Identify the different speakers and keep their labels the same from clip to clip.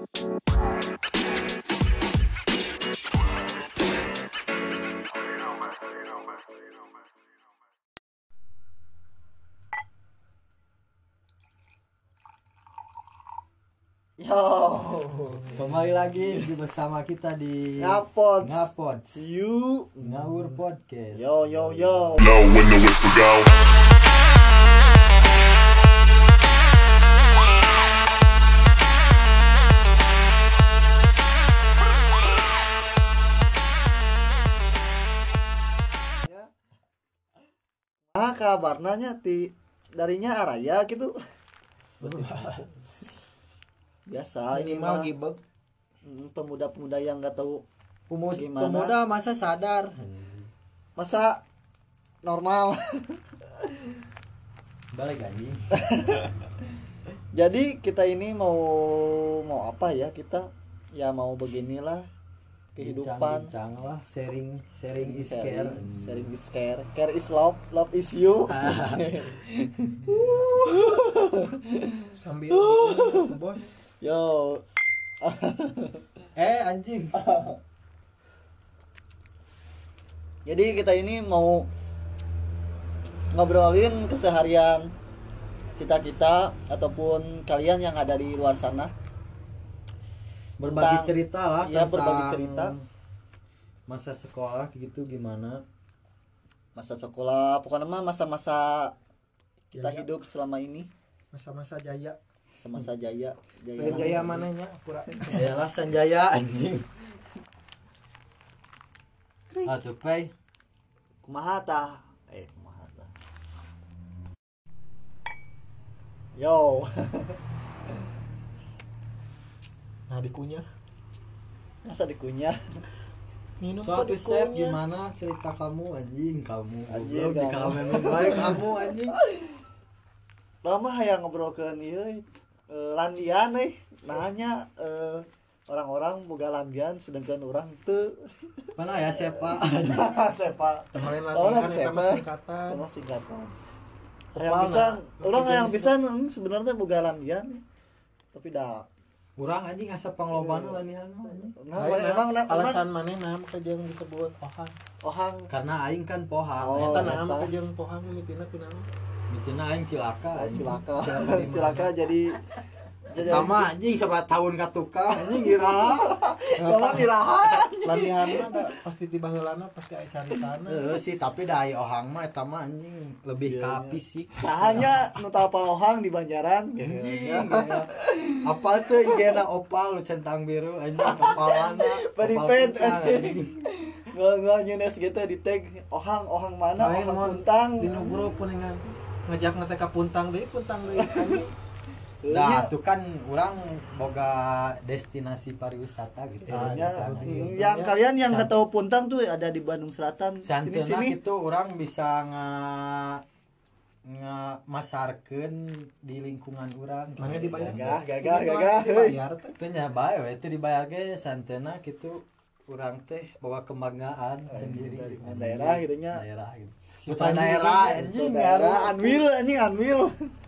Speaker 1: Yo,
Speaker 2: Kembali lagi bersama kita di
Speaker 1: Ngapot.
Speaker 2: You Ngawur Podcast.
Speaker 1: Yo.
Speaker 3: Know when the whistle go.
Speaker 1: Kabarnya darinya araya gitu. Biasa ini mah
Speaker 4: gibeg.
Speaker 1: pemuda-pemuda yang nggak tahu gimana.
Speaker 2: Pemuda masa sadar.
Speaker 1: Masa normal.
Speaker 2: Balik anjing.
Speaker 1: Jadi kita ini mau apa ya, kita ya mau beginilah kehidupan.
Speaker 2: Bincang lah, sharing is care.
Speaker 1: Sharing is care. Care is love, love is you.
Speaker 4: Sambil bos.
Speaker 1: Yo.
Speaker 2: Anjing.
Speaker 1: Jadi kita ini mau ngobrolin keseharian kita ataupun kalian yang ada di luar sana.
Speaker 2: Berbagi cerita lah.
Speaker 1: Ya,
Speaker 2: tentang
Speaker 1: berbagi cerita.
Speaker 2: Masa sekolah gitu gimana?
Speaker 1: Masa sekolah, pokoknya mah masa-masa kita
Speaker 4: Jaya.
Speaker 1: hidup selama ini.
Speaker 4: Masa-masa jaya.
Speaker 1: Masa jaya.
Speaker 4: Jaya mananya? Pura.
Speaker 2: Jayalah Sanjaya anjing. Atuh Pay.
Speaker 1: Kumaha tah? Kumaha tah? Yo.
Speaker 4: Nah dikunyah.
Speaker 1: Masa dikunyah?
Speaker 4: Minum
Speaker 2: Suatu
Speaker 4: kok
Speaker 2: chef
Speaker 4: dikunyah.
Speaker 2: gimana cerita kamu anjing?
Speaker 1: Anjing,
Speaker 2: Goblok, di
Speaker 1: kamu.
Speaker 2: kamu baik kamu anjing.
Speaker 1: Lama hayang ngobrolkeun ieu landian nanya orang-orang boga landian sedangkan orang teu.
Speaker 2: Mana ya sepa?
Speaker 1: Sepa.
Speaker 4: Kemarin
Speaker 1: Oh,
Speaker 4: latihan
Speaker 1: siapa?
Speaker 4: eta mah singkatan.
Speaker 1: Sama singkatan.
Speaker 4: Opal
Speaker 1: Yang bisa,
Speaker 4: nah.
Speaker 1: orang
Speaker 4: Opal
Speaker 1: yang
Speaker 4: jenis
Speaker 1: bisa sebenarnya boga landian. Tapi dah.
Speaker 2: Urang anjing asa panglobana lanihan mah anjing.
Speaker 1: Nah,
Speaker 4: Saya
Speaker 1: emang
Speaker 4: alasan mana naam ke jeung disebut pohang.
Speaker 1: ohang.
Speaker 2: Karena aing kan pohang.
Speaker 1: Oh,
Speaker 4: Eta
Speaker 1: eta.
Speaker 4: naam ke jeung pohang mitina kunaon?
Speaker 2: Mitina aing cilaka. anjing.
Speaker 1: Cilaka.
Speaker 4: Cilaka di mana?
Speaker 1: Cilaka jadi
Speaker 2: Tama anjing sebelah tahun ka tukang anjing gira.
Speaker 1: Kamu dirahan.
Speaker 4: Landihan mah da pasti tiba heulana pasti aya caritana.
Speaker 2: Sih tapi da ai ohang mah eta mah anjing lebih ka fisik.
Speaker 1: Hanya nu tapa ohang di Banjaran.
Speaker 2: Anjing. Apa tuh igena opal lu centang biru anjing opalana.
Speaker 1: Peripet,
Speaker 2: opal putang,
Speaker 1: anjing. Nggak nyunes gitu di tag ohang mana
Speaker 4: Lain
Speaker 1: ohang
Speaker 4: mau
Speaker 1: puntang.
Speaker 4: di nu grup kuningan ngajak nate ka puntang deui anjing.
Speaker 2: Nah, itu kan orang boga destinasi pariwisata gitu.
Speaker 4: Ah,
Speaker 1: Ya,
Speaker 4: kan.
Speaker 1: yang kalian yang nggak tahu Puntang tuh ada di Bandung Selatan.
Speaker 2: Santena
Speaker 1: Sini.
Speaker 2: itu orang bisa masarkeun di lingkungan orang.
Speaker 4: Mana dibayar?
Speaker 1: Gagah.
Speaker 4: Dibayar teh.
Speaker 2: Itu nya bae we itu dibayar ge santena gitu urang teh bawa kebanggaan sendiri.
Speaker 1: Daerah gitunya.
Speaker 2: Daerah gitu.
Speaker 4: Putra
Speaker 2: Putra daerah anjing
Speaker 1: Daerah Anwil.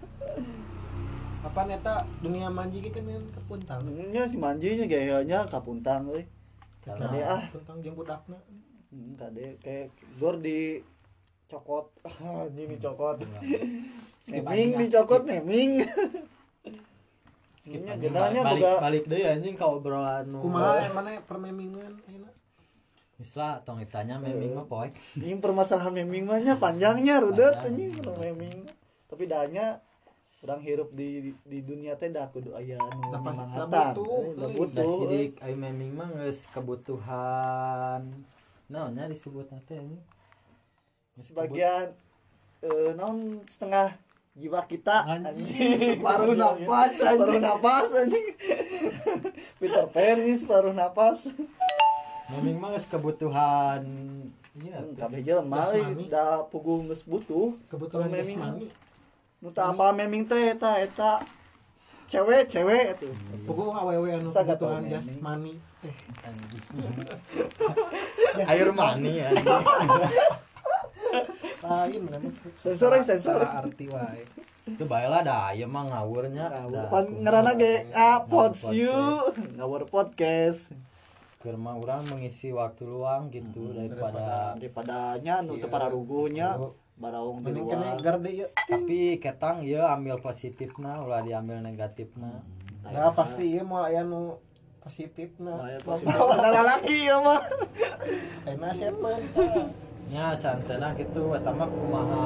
Speaker 4: Apa neta dunia manji gitu kan ke puntang.
Speaker 1: Nya si manjinya gayanya ka Puntang euy. Kade ah.
Speaker 4: Puntang jeung budakna.
Speaker 1: Kade kayak gor di cokot. Anjing dicokot.
Speaker 2: Skip
Speaker 1: Meming
Speaker 2: anjing,
Speaker 1: dicokot meming.
Speaker 2: Skip
Speaker 1: Nya
Speaker 2: anjing,
Speaker 1: genanya boga
Speaker 2: balik deui anjing ka obrolan nu.
Speaker 4: Kumaha mana permemingan ayeuna?
Speaker 2: Islah tong ditanya meming mah poek.
Speaker 1: ini permasalahan meming mah nya panjangnya rudet
Speaker 2: Panjang.
Speaker 1: anjing kalau meming. Tapi dahnya urang hirup di dunia teh dah kudu aya nu
Speaker 4: Da
Speaker 1: mangatan.
Speaker 4: butuh,
Speaker 1: Da
Speaker 4: euy.
Speaker 1: butuh.
Speaker 2: Da sidik ai meming mah geus kebutuhan naonnya disebutna teh anjing.
Speaker 1: Sebagian naon setengah jiwa kita
Speaker 2: Anjing, separuh napas, anjing.
Speaker 1: separuh napas anjing. Peter Pan ini separuh napas.
Speaker 2: Meming mah geus kebutuhan iya
Speaker 1: Kabeh jelema
Speaker 4: Jasmani.
Speaker 1: da puguh geus butuh
Speaker 4: Kebetulan
Speaker 1: meming.
Speaker 4: jasmani.
Speaker 1: Nu teu apa meming teh eta cewek atuh.
Speaker 4: Pokok awewe anu
Speaker 1: Saga
Speaker 4: kebutuhan
Speaker 1: tau,
Speaker 4: jasmani.
Speaker 2: anjing. Air mani anjing.
Speaker 4: Lain kan.
Speaker 1: Sensor.
Speaker 4: Salah arti wae.
Speaker 2: Itu baelah dah ieu mah ngawurnya.
Speaker 1: Pan ngaranna ge Pods you ngawur podcast.
Speaker 2: Keur mah urang mengisi waktu luang gitu
Speaker 1: daripada nya nu teu pararugunya baraung di
Speaker 4: Mending
Speaker 1: luar.
Speaker 4: kene garde ieu.
Speaker 2: tapi ketang ieu ambil positifna ulah diambil negatifna.
Speaker 4: Nah pasti ieu moal aya nu positifna.
Speaker 1: Aya positif ada lalaki ya mah.
Speaker 4: Ayeuna sepen.
Speaker 2: Nya santena kitu eta mah kumaha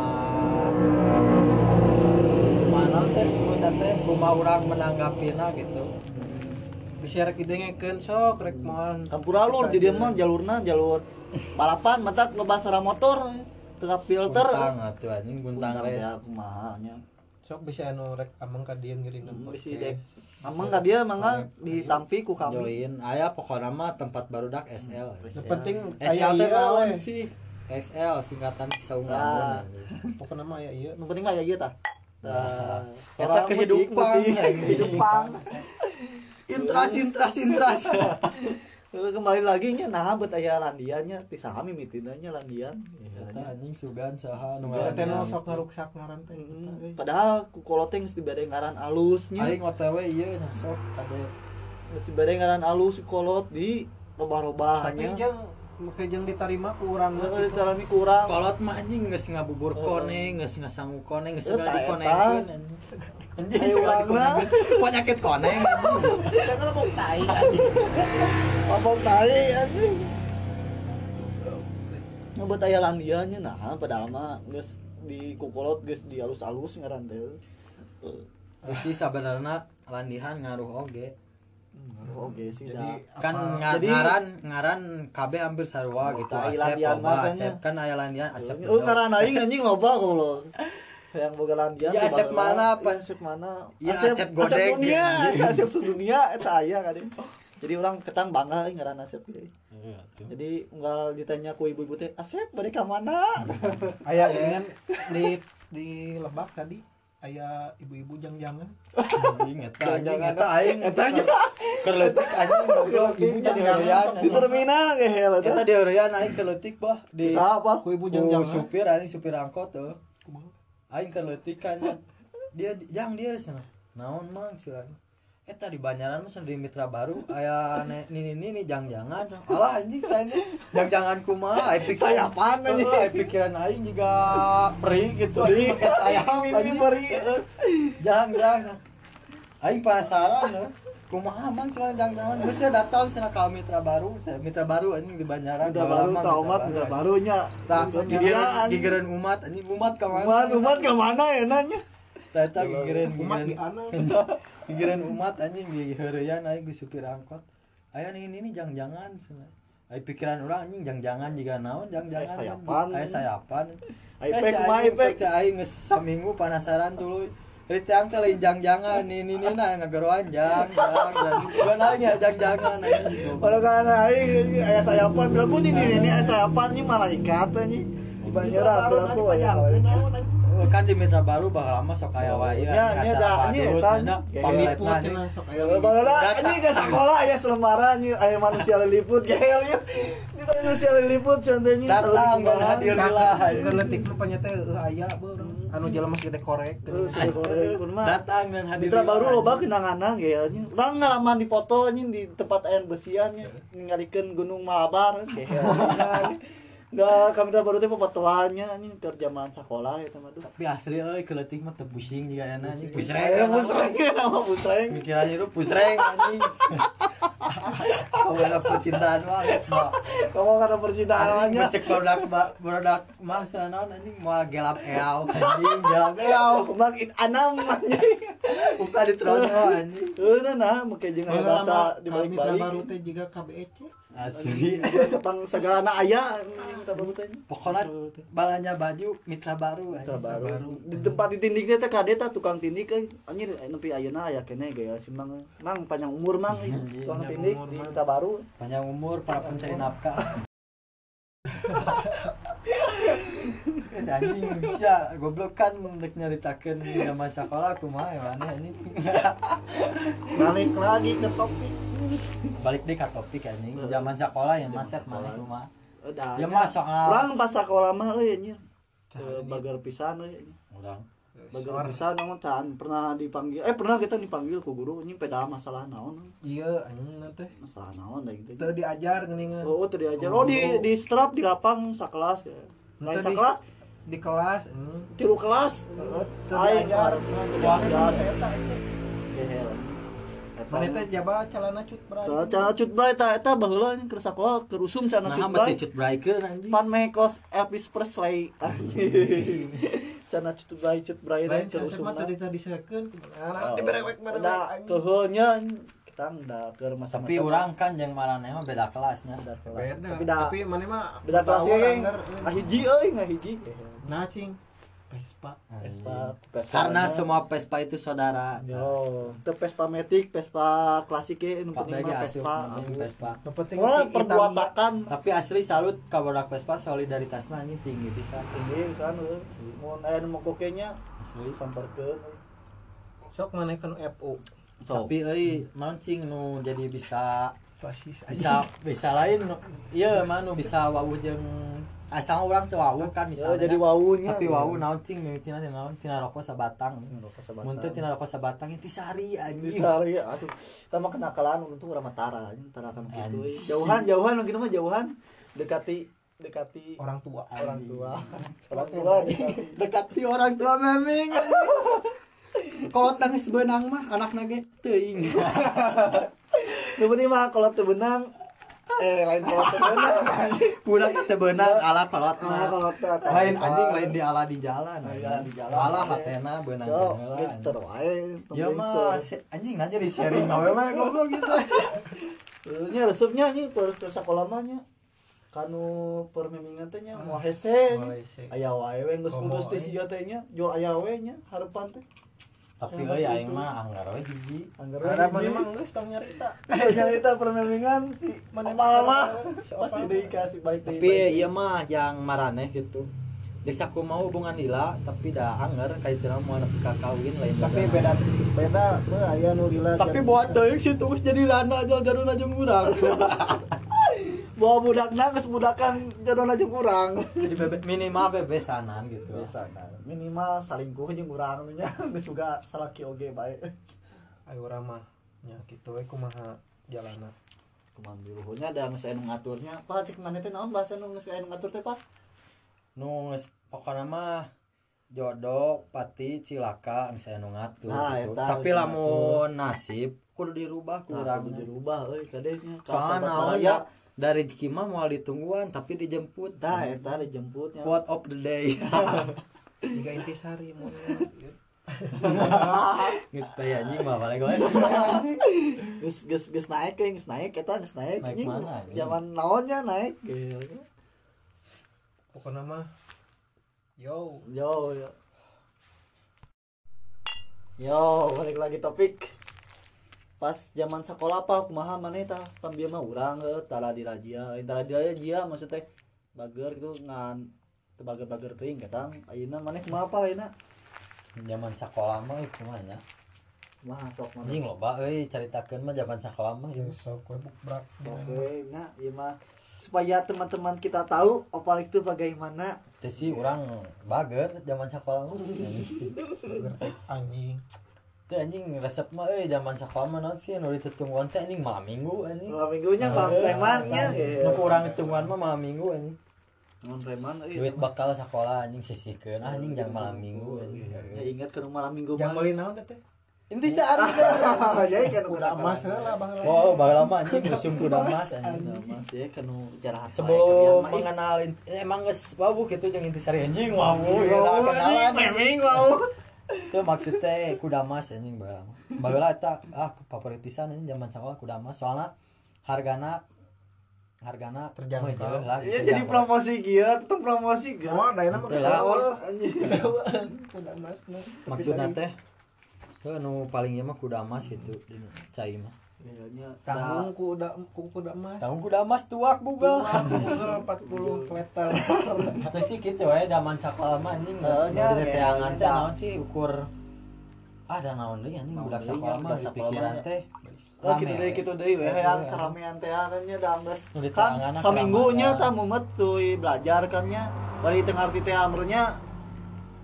Speaker 2: mana teh sebutan teh kumaha urang menanggapina gitu.
Speaker 4: Bisa rek didengekeun sok rek moal.
Speaker 1: Campur-alur jadi mah jalurna jalur balapan matak loba sara motor teu filter.
Speaker 2: Guntang atuh anjing guntang res.
Speaker 1: Ya kumaha nya.
Speaker 4: Sok bisa anu rek ameng ka dieu ngiringan.
Speaker 1: Bisi dek. Amang ka dia mangga ditampi ku kami.
Speaker 2: Join aya pokona mah tempat barudak SL.
Speaker 4: Yang penting
Speaker 2: SL
Speaker 4: aya
Speaker 2: teh
Speaker 4: ieu
Speaker 2: naon
Speaker 4: we.
Speaker 2: sih? XL singkatan saunggaun.
Speaker 1: Nah.
Speaker 4: Pokona mah aya ieu.
Speaker 1: Nu penting mah ya ieu tah.
Speaker 2: Eta kehidupan,
Speaker 1: kehidupan. Intras. Kembali lagi nya nah bet aya landiannya ti saha mimitina nya landian.
Speaker 2: Eta anjing sugan saha nu
Speaker 4: Teh nu
Speaker 2: ngaranna.
Speaker 4: sok ngaruksak ngaran teh.
Speaker 1: Padahal ku koloteng geus dibere ngaran alusnya.
Speaker 2: Aing OTW ieu sok ade.
Speaker 1: Geus dibere ngaran alus kolot di
Speaker 4: Tapi
Speaker 1: robah-robahannya.
Speaker 4: jeung ditarima ku urang
Speaker 1: Heeh, ditarami kurang.
Speaker 2: Kolot mah anjing geus ngabubur koneng, geus ngasangu koneng, geus segala
Speaker 1: Eta,
Speaker 2: dikonengkeun anjing. Anjing
Speaker 1: Ayo
Speaker 2: segala
Speaker 1: urang mah.
Speaker 2: dikonengkeun. Penyakit koneng anjing.
Speaker 4: Jangan mau tai anjing.
Speaker 1: Mabok tai anjing. Ngebet aya landiannya nah padahal mah geus di kukolot geus di alus-alus ngaran teh.
Speaker 2: Terus sih sabenerna landihan ngaruh oge.
Speaker 1: Oke sih
Speaker 4: Jadi
Speaker 1: dah.
Speaker 2: Kan
Speaker 1: Jadi-
Speaker 2: ngaran kabeh hampir sarua gitu.
Speaker 1: Tai
Speaker 2: Asep
Speaker 1: landian
Speaker 2: loba,
Speaker 1: mah
Speaker 2: Asep kan aya landian Asep.
Speaker 1: Oh ngaran aing anjing loba goblok. Yang boga landian
Speaker 2: Ya,
Speaker 1: di
Speaker 2: Asep
Speaker 1: Bagelah.
Speaker 2: mana, apa?
Speaker 1: Ya, Asep mana?
Speaker 2: Ya, Asep Godek,
Speaker 1: Asep dunia,
Speaker 2: gitu.
Speaker 1: Asep sedunia eta aya kan. Jadi orang ketang bangga ngaran Asep gitu. Jadi unggal ditanya ku ibu-ibu teh, "Asep bade ka mana?"
Speaker 4: aya dengan di Lebak tadi aya ibu-ibu jang-jangan.
Speaker 2: Anjing eta aing keur leutik anjing goblok ibu
Speaker 4: Jadi
Speaker 2: jangan
Speaker 1: Di terminal ge hel eta.
Speaker 2: Kita di Orian aing keur leutik bah di
Speaker 1: Siapa?
Speaker 4: Ku ibu
Speaker 2: ku
Speaker 4: jang-jangan.
Speaker 2: supir anjing supir angkot tuh. Aing keur leutik kan dia dia sana. Naon mang cenah. Eta di Banyaran mah di Mitra Baru aya ini jang-jangan. Alah anjing tanya jang-jangan kumaha aya pikiran
Speaker 1: Sayapan anjing.
Speaker 2: Aya pikiran aing juga peri gitu anjing pakai sayap
Speaker 1: Ini
Speaker 2: anjing.
Speaker 1: beri.
Speaker 2: Jangan. Aing penasaran kumaha mang cenah jang-jangan geus datang cenah ka Mitra Baru anjing di Banyaran.
Speaker 1: Udah baru taumat udah barunya.
Speaker 2: Tak gigireun umat anjing umat ka mana?
Speaker 1: Umat ka mana ya nanya?
Speaker 2: Eta gigireun
Speaker 4: Umat di ana.
Speaker 2: gigireun umat anjing di heureuyan aing geus supir angkot. Aya ini jang-jangan cenah. Ai pikiran urang anjing jang-jangan jiga naon jang-jangan.
Speaker 1: Sayapan.
Speaker 2: Aya sayapan.
Speaker 1: Ipek mah ipek.
Speaker 2: Aing geus saminggu penasaran tuluy. Dari tiang teh lain jang-jangan ini nah ngageroan jang. Bukan aing ya jang-jangan anjing.
Speaker 1: Padahal kan aing aya sayapan berlaku ini aya sayapan nya malaikat anjing. Di Banyaran berlaku aya malaikat.
Speaker 2: Kan di Mitra Baru bakal lama sok aya wae
Speaker 1: Nya, nya da, nya eta, nya.
Speaker 4: Pamiput cenah sok aya.
Speaker 1: Bagaimana anjing ke sekolah aya selembaran nya aya manusia liliput gehelnya. Di manusia liliput contohnya
Speaker 2: datang dan hadir lah.
Speaker 4: Keur leutik nu panyata aya beureum. Anu jelema masih korek.
Speaker 2: Datang dan hadir.
Speaker 1: Mitra Baru loba kenangan gehelnya. Urang ngalaman di foto anjing di tempat aya besian nya ningalikeun Gunung Malabar gehelnya. Enggak, kami Baru teh pepotoannya anjing keur zaman sakola eta mah.
Speaker 2: Tapi asli euy keleutik mah teu pusing jiga aya anjing.
Speaker 1: Pusreng, nama pusreng.
Speaker 2: Pikirannya itu pusreng anjing. Kamu percintaan mah geus mah.
Speaker 1: Kamu karena percintaannya.
Speaker 2: Cek barudak mah sanaon anjing moal gelap eau anjing gelap eau.
Speaker 1: Makin anam anjing.
Speaker 2: Buka di trono anjing.
Speaker 1: Nah, make jeung aya bahasa
Speaker 4: Mitra
Speaker 1: dibalik-balik.
Speaker 4: Baru teh jiga KBEC.
Speaker 2: Asli.
Speaker 1: Sepang segalana aya Mitra Baru teh.
Speaker 2: Pokoknya balanya baju Mitra Baru
Speaker 1: Mitra
Speaker 2: anjing.
Speaker 1: Baru. Di tempat di tindik teh kade teh tukang tindik anjir nepi ayeuna aya keneh gaya si Mang. Mang panjang umur Mang tukang
Speaker 4: Panjang
Speaker 1: tindik
Speaker 4: umur,
Speaker 1: di
Speaker 4: Mang.
Speaker 1: Mitra Baru.
Speaker 2: Panjang umur para pencari nafkah. Anjing sia goblok kan rek nyaritakeun zaman sekolah kumaha ya mana ini.
Speaker 4: Balik lagi ke topik.
Speaker 2: Balik deh ke topik anjing zaman sekolah ya Masep mana kumaha.
Speaker 1: Udah.
Speaker 2: Ya mah soal
Speaker 1: Urang pas sakola mah euy anjir. Bagar pisan euy.
Speaker 2: urang
Speaker 1: Bager bisa naon can pernah dipanggil pernah kita dipanggil ku guru nya peda masalah naon
Speaker 4: Iya anjing teh.
Speaker 1: masalah naon da gitu
Speaker 4: Teu diajar geuningan.
Speaker 1: oh teu diajar oh di strap di lapang sakelas ya lain
Speaker 4: Teu di-
Speaker 1: sakelas
Speaker 4: di kelas
Speaker 1: tilu kelas
Speaker 4: teu
Speaker 1: aing
Speaker 4: diajar. Wah,
Speaker 1: diajar
Speaker 4: saya eta sih.
Speaker 1: gehel
Speaker 4: Mana teh jaba calana cut bray.
Speaker 1: soalnya cara cut bray eta baheula keur sakola keur usum cara
Speaker 2: Nah,
Speaker 1: cut
Speaker 2: mah
Speaker 1: bray
Speaker 2: cut breaker anjing.
Speaker 1: pan mekos Elvis Presley anjing cara cut bray
Speaker 4: Lain
Speaker 1: keur
Speaker 4: saya mah
Speaker 1: usumna
Speaker 4: tadi disekeun. Anak diberewek
Speaker 1: udah
Speaker 4: berewek.
Speaker 1: keheulnya kita udah keur masa-masa
Speaker 2: Tapi urang kan jeung maraneh mah beda kelasnya.
Speaker 1: beda kelas
Speaker 4: Beda.
Speaker 1: tapi dah
Speaker 4: Tapi mana mah
Speaker 1: beda kelas
Speaker 4: bawa
Speaker 1: ya
Speaker 4: anggar,
Speaker 1: ngahiji euy ngahiji
Speaker 4: Nah cing. Vespa.
Speaker 1: Vespa
Speaker 2: Karena semua Vespa itu saudara.
Speaker 1: yo teu Vespa Matic Vespa klasik ge nu
Speaker 2: Pak
Speaker 1: penting
Speaker 2: Bege
Speaker 1: mah
Speaker 2: asup
Speaker 1: Vespa
Speaker 2: anjing Vespa.
Speaker 4: Yang penting
Speaker 1: Wah,
Speaker 4: si
Speaker 1: perbuatan
Speaker 2: Tapi asli salut ka bodak Vespa solidaritasna anjing tinggi pisan.
Speaker 1: tinggi pisan euy mun aya nu mogokenya
Speaker 2: Asli.
Speaker 1: samperkeun
Speaker 4: sok mana kan FU.
Speaker 2: Tapi euy naon cing nu jadi bisa
Speaker 4: Basis
Speaker 2: bisa lain ieu mah nu bisa wawuh jeung asal urang teu wawuh kan
Speaker 1: ya
Speaker 2: misalnya.
Speaker 1: jadi wawunya
Speaker 2: Tapi wawuh naon cing mimitina teh naon tina rokok sabatang. Mun teu tina
Speaker 1: tina
Speaker 2: rokok sabatang inti sehari anjing.
Speaker 1: disari aduh kita mah kenakalan untung urang Matara tara kan kitu
Speaker 2: Anjing.
Speaker 1: jauhan gitu mah jauhan dekati
Speaker 4: orang tua.
Speaker 1: orang tua
Speaker 2: Dekati orang tua meming. Kalau nangis benang mah anakna ge teuing.
Speaker 1: nu penting mah kalau teu benang lain kalau teu benang
Speaker 2: Budak teh beunang ala
Speaker 1: ah
Speaker 2: kolotna.
Speaker 1: kalau teu
Speaker 2: Lain anjing lain di ala di jalan.
Speaker 1: Ala di jalan.
Speaker 2: Ala hatena beunang
Speaker 1: yo
Speaker 2: heula.
Speaker 1: gangster wae
Speaker 2: Ya mah anjing aja di sharing awe mah goblok gitu.
Speaker 1: nya resepnya nya per sakola mah nya kanu permemingan teh nya moal hese
Speaker 4: Moal hese.
Speaker 1: aya wae we geus
Speaker 4: Oh,
Speaker 1: putus teh
Speaker 4: moal
Speaker 1: siga teh nya jual aya we nya harapan teh
Speaker 2: Tapi
Speaker 1: Yang
Speaker 2: euy
Speaker 1: masih
Speaker 2: aing
Speaker 1: itu.
Speaker 2: mah anggar we hiji.
Speaker 1: anggar
Speaker 4: Ada
Speaker 1: we
Speaker 4: mana mah geus tong nyarita.
Speaker 1: nyarita permemingan si
Speaker 4: Mana
Speaker 1: opal mah
Speaker 4: si
Speaker 1: pasti
Speaker 4: opal.
Speaker 1: deui kasih balik deui
Speaker 2: Tapi ieu mah yang maraneh gitu. Desa aku mau hubungan lila tapi dah anggar kayak cenah mau nepi ka kawin lain.
Speaker 4: Tapi
Speaker 2: juga.
Speaker 4: beda
Speaker 1: beda aya nu lila
Speaker 2: Tapi buat teuing si terus jadi rana jaljaruna jeung urang.
Speaker 1: bawa budakna geus budakan jadona jeung urang
Speaker 2: Jadi minimal bebesanan gitu.
Speaker 1: biasa kan minimal salingkuh jeung urang nya geus juga salaki oge bae
Speaker 4: ayo urang mah nya kitu we kumaha jalana.
Speaker 1: kumaha biruhnya da geus aya nu ngaturnya pa cek maneh teh naon bahasa nu geus aya nu ngatur teh pa
Speaker 2: Nu pokokna mah jodoh pati cilaka misalnya nu ngatur
Speaker 1: Nah,
Speaker 2: gitu.
Speaker 1: eta
Speaker 2: Tapi
Speaker 1: geus
Speaker 2: lamun nasib kudu dirubah ku
Speaker 1: nah
Speaker 2: urang.
Speaker 1: kudu dirubah euy kadenya
Speaker 2: Soalna naon ya dari rezeki mah moal ditungguan tapi dijemput.
Speaker 1: tah eta dijemputnya
Speaker 2: Quote of the day.
Speaker 4: Tiga intisari mun.
Speaker 2: Geus teh anjing mah balik we.
Speaker 1: geus naik geus naik eta geus naik
Speaker 2: Naik
Speaker 1: anjing.
Speaker 2: mana, anjing?
Speaker 1: Zaman naonnya naik gitu.
Speaker 4: Pokokna mah yo
Speaker 1: Yo. Yo, balik lagi topik. Pas zaman sekolah apa kumaha maneh tah pambieu mah urang tara di razia. Tara di razia maksudnya bager gitu ngan teu bager-bager teuing katang. Ayeuna maneh kumaha apa ayeuna?
Speaker 2: Zaman sekolah mah itu mah nya.
Speaker 1: Kumaha sok maneh.
Speaker 2: Anjing loba euy caritakeun mah zaman sekolah mah.
Speaker 4: ya sok we bukbrak.
Speaker 1: Oke, nah ieu mah supaya teman-teman kita tahu opal itu bagaimana.
Speaker 2: Teh sih urang bager zaman sekolah mah.
Speaker 4: Anjing.
Speaker 2: Teh anjing resep mah euy zaman sekolah mah naon sih nu ditutungguan teh anjing malam minggu anjing.
Speaker 1: Malam minggunya malam premannya
Speaker 2: Nu kurang hitungguan mah malam minggu anjing.
Speaker 1: Malam preman
Speaker 2: Duit bakal sekolah anjing sisihkeun anjing jang malam minggu anjing.
Speaker 1: Ya ingat ke malam minggu
Speaker 4: Yang
Speaker 1: mah.
Speaker 4: meuli naon teh?
Speaker 1: Inti sehari jadi kan
Speaker 4: Udah emas heula baheula.
Speaker 2: Oh, baheula mah anjing musim kuda emas anjing.
Speaker 1: Mas ya kan jarahat
Speaker 2: Sebelum mengenal emang geus wawuh kitu jeung intisari anjing wawuh ya kenalan
Speaker 1: meming wow.
Speaker 2: Itu maksud teh kuda emas anjing baheula. Baheula eta favoritisan anjing zaman sekolah kuda emas soalna hargana
Speaker 4: Terjangkau.
Speaker 2: meuh lah.
Speaker 1: Iya jadi promosi kieu, tetep promosi ge.
Speaker 4: Oh, daena mah
Speaker 2: Betul lah.
Speaker 4: kesawas.
Speaker 1: Anjing.
Speaker 4: Udah emas nah.
Speaker 2: Maksudna teh nu paling ieu mah kuda emas gitu di cai mah.
Speaker 1: Kayaknya
Speaker 4: Tanggung ku udah emas.
Speaker 2: Tahun kuda emas tuak bugal.
Speaker 4: Google 40 meter.
Speaker 2: Tapi sih gitu we zaman sekolah mah anjing
Speaker 1: Nya,
Speaker 2: dari teangan teh
Speaker 1: ya.
Speaker 2: naon sih ukur ada naon deui anjing
Speaker 1: Naon
Speaker 2: budak
Speaker 1: deui,
Speaker 2: sekolah
Speaker 1: nya,
Speaker 2: mah
Speaker 1: budak sekolah
Speaker 2: pikiran
Speaker 1: mah,
Speaker 2: teh.
Speaker 1: Oh kitu deui we yang karamean teh kan nya da geus
Speaker 2: Nu di
Speaker 1: kan
Speaker 2: teanganna
Speaker 1: saminggunya
Speaker 2: keramaian.
Speaker 1: tah mumet teuy belajar kan nya bari teu ngarti teh amrnya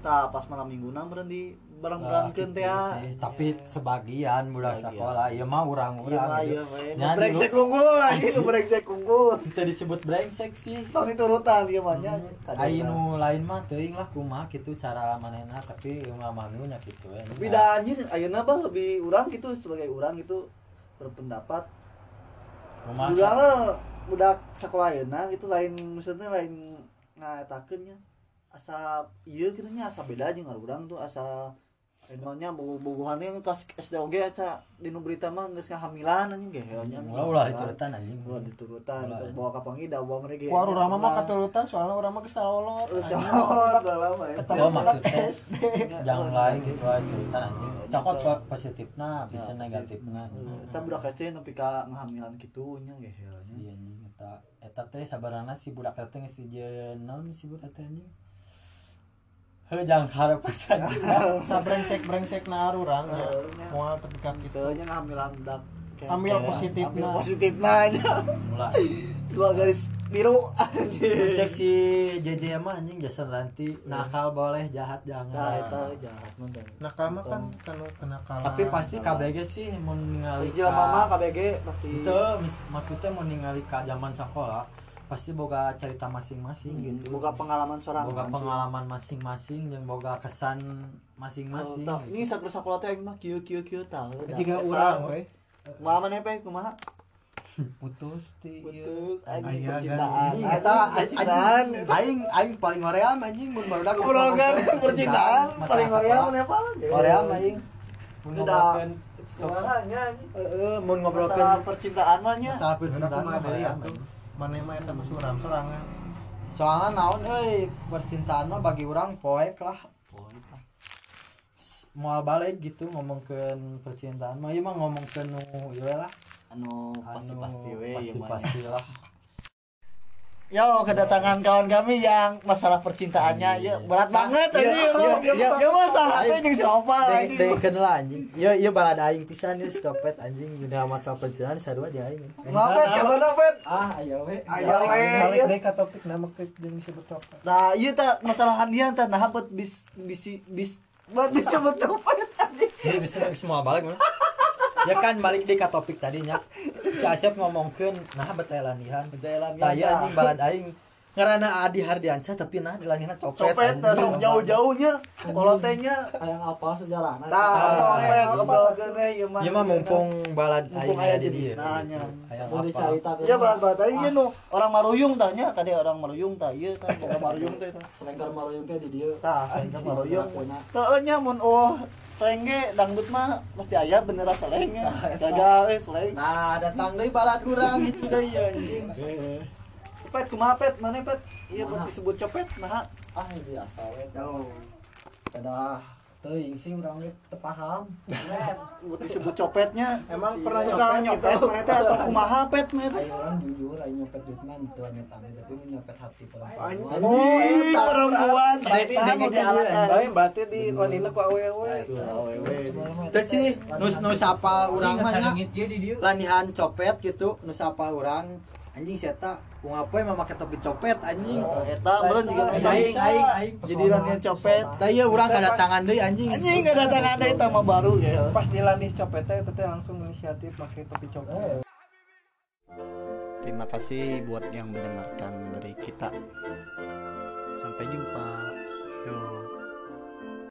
Speaker 1: tah pas malam minggunan meureun di bareng-barengkeun teh ya.
Speaker 2: Tapi sebagian budak
Speaker 1: Sebagian.
Speaker 2: sekolah ieu mah urang-urang
Speaker 1: Iya,
Speaker 2: gitu.
Speaker 1: mah brengsek unggul lagi nu brengsek unggul.
Speaker 2: Kita disebut brengsek sih.
Speaker 1: Tong diturutan ieu mah nya.
Speaker 2: Ai nu lain mah teuing lah kumaha kitu cara manehna tapi ieu mah manu nya kitu ya.
Speaker 1: Beda anjir ayeuna bah lebih urang gitu sebagai urang gitu berpendapat. Juga mah budak sekolah ayeuna gitu lain maksudnya lain ngaetakeun nya. Asa ieu kitu nya asa beda jeung urang tuh asa emangnya bogohan yang tas SDOG aja di nu berita mah geus ngahamilan anjing gehelnya.
Speaker 2: Ulah diturutan anjing.
Speaker 1: Ulah diturutan bawa ka pangida bawa mereka.
Speaker 4: Ku urang mah katurutan soalnya urang mah geus kalolot.
Speaker 1: Salor udah lama ya.
Speaker 2: Oh maksudnya yang lain gitu aja cerita anjing. Cokot positifna, bisa negatifna.
Speaker 1: Kita budak SD nepi ka ngahamilan kitu nya gehelnya.
Speaker 2: Iya anjing eta teh sabarana si budak teh geus dijieun naon si budak teh anjing. Jangan harap saja.
Speaker 4: Sa brengsek na urang moal terdekat
Speaker 1: Gitu
Speaker 4: gitu.
Speaker 1: nya ngahamilan dak.
Speaker 4: Ambil positifna.
Speaker 1: Ambil positifna aja.
Speaker 2: Mulai.
Speaker 1: Dua garis biru anjing.
Speaker 2: Cek si JJ mah anjing Jason Ranti nakal boleh jahat
Speaker 1: Nah,
Speaker 2: jangan.
Speaker 1: eta jahat mah.
Speaker 4: Nakal mah kan kenakalan.
Speaker 2: Tapi pasti KBG sih mau ningali
Speaker 1: Jelema mah KBG pasti.
Speaker 2: itu maksudnya mau ningali ka zaman sekolah pasti boga cerita masing-masing gitu.
Speaker 1: Boga pengalaman seorang.
Speaker 2: Boga pengalaman masing-masing yang boga kesan masing-masing.
Speaker 1: Tah, ini sakur-sakur teh aing mah kieu tah.
Speaker 4: Tiga urang we
Speaker 1: Kumaha maneh pe kumaha?
Speaker 4: putus ti
Speaker 1: Putus
Speaker 4: ieu.
Speaker 1: anjing
Speaker 4: Aya
Speaker 1: percintaan.
Speaker 2: Anjing eta
Speaker 1: Percintaan.
Speaker 2: aing paling hoream anjing mun barudak
Speaker 1: Ngobrolkeun percintaan paling hoream maneh apa?
Speaker 2: hoream aing. Mun
Speaker 1: Udah.
Speaker 2: ngobrolkeun
Speaker 1: Suaranya anjing.
Speaker 2: mun
Speaker 1: Masalah
Speaker 2: ngobrolkeun
Speaker 1: percintaan mah nya.
Speaker 2: masalah
Speaker 4: Percintaan
Speaker 2: percintaan
Speaker 4: mah
Speaker 2: mah
Speaker 4: deui
Speaker 2: hoream.
Speaker 4: atuh. Maneh mah eta mah sorangan.
Speaker 2: Soalnya naon euy percintaan mah bagi urang poek lah. Moal balik gitu ngomongkeun percintaan mah ieu mah ngomongkeun nu ieu lah
Speaker 1: Anu pasti-pasti we ieu mah.
Speaker 2: pasti lah.
Speaker 1: Yo, kedatangan kawan kami yang masalah percintaannya ya berat banget tadi. Ya masalah teh jeung si Opal anjing.
Speaker 2: Dengkeun lah anjing. Ieu balad aing pisan ieu stopet anjing dina masalah percintaan sarua jeung aing.
Speaker 1: Ngapet ka mana pet?
Speaker 2: Ayo we.
Speaker 1: Aya we.
Speaker 4: Balik deui ka topik nama jeung disebut copet.
Speaker 1: Nah, ieu tah masalah handian tah nah bet bis buat disebut copet anjing.
Speaker 2: Ini bisa semua balik mana? Ya kan balik di ka topik tadinya. Si Asyaf ngomongkeun nah bet aya lanihan. Tah ieu anjing balad aing ngaranna Adi Hardiansyah tapi nah di lanihan copet.
Speaker 1: Copet tah sok jauh-jauhnya kolotenya.
Speaker 5: Yang apa sejarahna
Speaker 1: Tah, copet obrolkeun we ieu mah.
Speaker 2: Ieu mah mumpung balad
Speaker 1: mumpung
Speaker 2: aing
Speaker 1: aya
Speaker 2: aya di
Speaker 1: jenis
Speaker 2: dieu.
Speaker 1: nanya.
Speaker 2: Aya
Speaker 5: mau
Speaker 2: apa?
Speaker 5: dicaritakeun
Speaker 1: Ya balat-balat tadi ieu nu orang Maruyung tah nya tadi orang Maruyung tah ieu tah boga Maruyung teh tah.
Speaker 5: selengkar maruyung teh di dieu
Speaker 1: Tah, sehingga Maruyung.
Speaker 5: Kena.
Speaker 1: Teu nya mun selenge dangdut mah mesti aya bener selengnya. Gagal seleng.
Speaker 2: Nah, datang deui balad urang gitu deui anjing.
Speaker 1: Pet kumaha pet? Mana pet? Iya buat
Speaker 5: Mana?
Speaker 1: disebut copet nah.
Speaker 5: ah ini biasa we kada teuing sih urang we teu paham.
Speaker 1: Buat disebut copetnya.
Speaker 4: Emang pernah
Speaker 1: Tukang
Speaker 4: nyopet
Speaker 1: nyopet
Speaker 4: gitu?
Speaker 1: mana teh atau kumaha pet mana teh?
Speaker 5: Ayo orang jujur ayo nyopet duit mah teu amit-amit tapi mun nyopet hati perempuan.
Speaker 1: Oh, ini perempuan.
Speaker 4: Berarti
Speaker 1: Tahan
Speaker 4: di
Speaker 1: udah alat.
Speaker 4: bae berarti di wanina ku awewe.
Speaker 2: Terus sih nu sapa urang mah nya
Speaker 5: Sangit dia di dieu.
Speaker 2: lanihan copet gitu nu sapa urang anjing si eta kumaha poe mah make topi copet anjing.
Speaker 1: Eta meureun juga eta
Speaker 5: Aing,
Speaker 1: bisa.
Speaker 5: aing.
Speaker 1: Jadi rannya copet.
Speaker 2: Da ieu urang kadatangan deui anjing.
Speaker 1: Anjing enggak datang ada eta mah baru ya.
Speaker 4: Pas dilandis copet teh teh langsung inisiatif pakai topi copet.
Speaker 1: Terima kasih buat yang mendengarkan dari kita. Sampai jumpa. Yo.